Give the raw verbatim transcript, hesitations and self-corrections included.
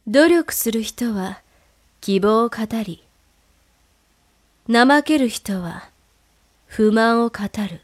努力する人は希望を語り、怠ける人は不満を語る。